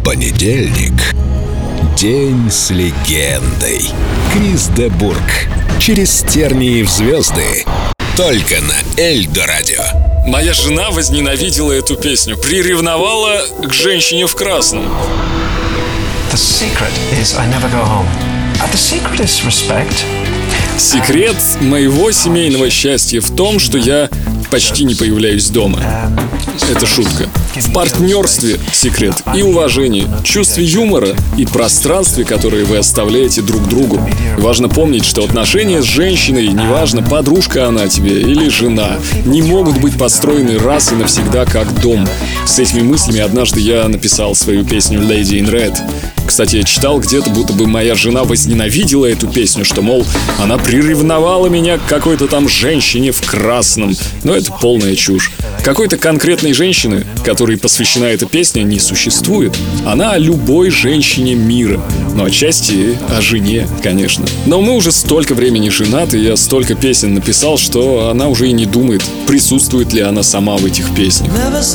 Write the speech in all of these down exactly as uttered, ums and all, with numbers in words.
Понедельник. День с легендой. Крис де Бургh. Через тернии в звезды. Только на Эльдо Радио. Моя жена возненавидела эту песню, приревновала к женщине в красном. The secret is I never go home. Uh, the secret is respect. Секрет моего семейного счастья в том, что я почти не появляюсь дома. Это шутка. В партнерстве секрет и уважение, чувстве юмора и пространстве, которое вы оставляете друг другу. Важно помнить, что отношения с женщиной, неважно, подружка она тебе или жена, не могут быть построены раз и навсегда как дом. С этими мыслями однажды я написал свою песню «Lady in Red». Кстати, я читал где-то, будто бы моя жена возненавидела эту песню, что, мол, она приревновала меня к какой-то там женщине в красном. Но это полная чушь. Какой-то конкретной женщины, которой посвящена эта песня, не существует. Она о любой женщине мира. Но отчасти о жене, конечно. Но мы уже столько времени женаты, я столько песен написал, что она уже и не думает, присутствует ли она сама в этих песнях.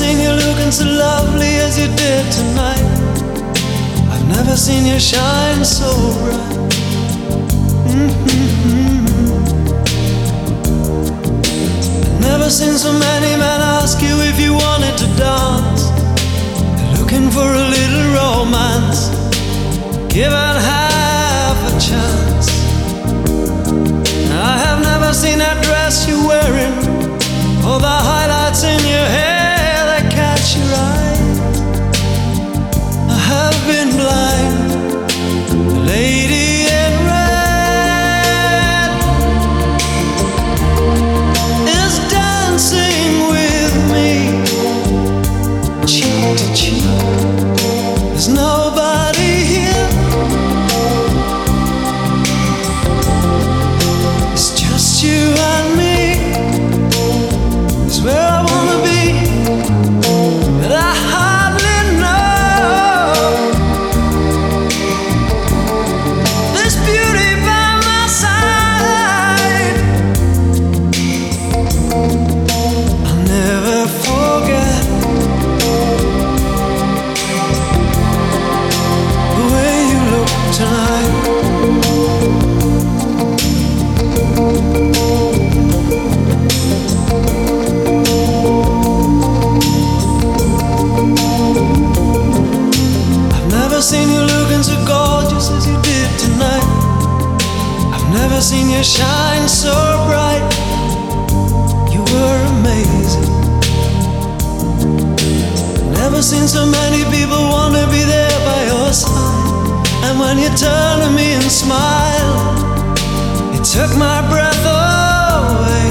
Never seen you shine so bright. Mm-hmm. Never seen so many men ask you if you wanted to dance. They're looking for a little romance, given half a chance. I have never seen that dress you're wearing, or the highlights in your hair that catch your eye. I've been blind, the lady in red is dancing with me, cheek to cheek. There's nobody here, it's just you and me. It's where I wanna be, but I hardly know. Seen you looking so gorgeous as you did tonight. I've never seen you shine so bright. You were amazing. Never seen so many people want to be there by your side. And when you turn to me and smile, it took my breath away.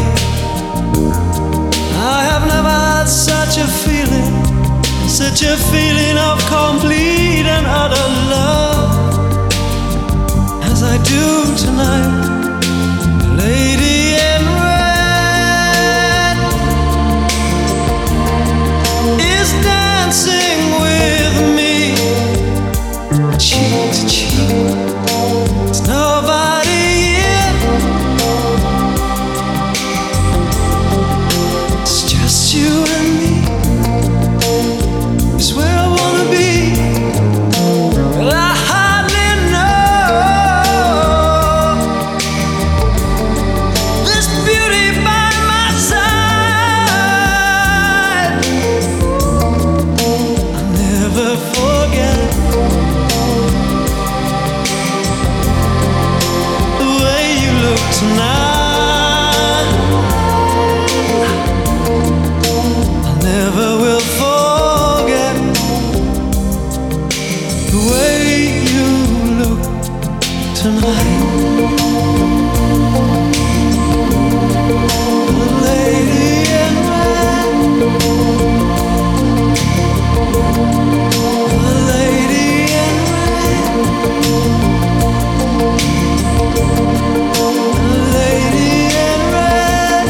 I have never had such a feeling, such a feeling of complete and utter love as I do tonight. Lady in red is dancing with me, cheek to cheek. There's nobody here, it's just you and me. It's where I wanna be, but I hardly know this beauty by my side. I'll never forget the way you look tonight. I never will forget the way you look tonight. The lady in red, the lady in red, the lady in red,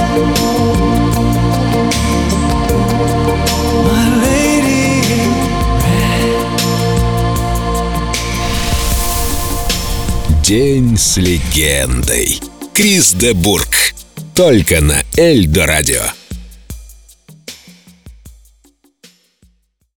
my lady in red. День с легендой. Крис де Бургh. Только на Эльдо Радио.